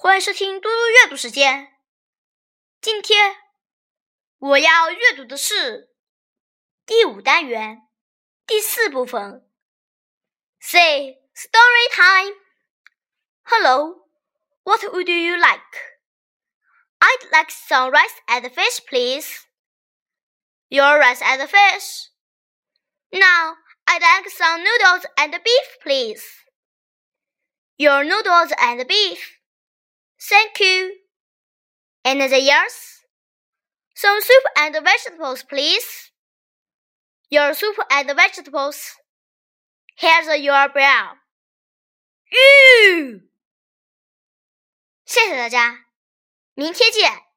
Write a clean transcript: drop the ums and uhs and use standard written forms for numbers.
欢迎收听嘟嘟阅读时间。今天我要阅读的是第5单元第4部分 Say Story Time. Hello, what would you like? I'd like some rice and fish, please. Your rice and fish. Now, I'd like some noodles and beef, please. Your noodles and beef.Thank you. Anything else? Some soup and vegetables, please. Your soup and vegetables. Here's your bill. 谢谢大家，明天见。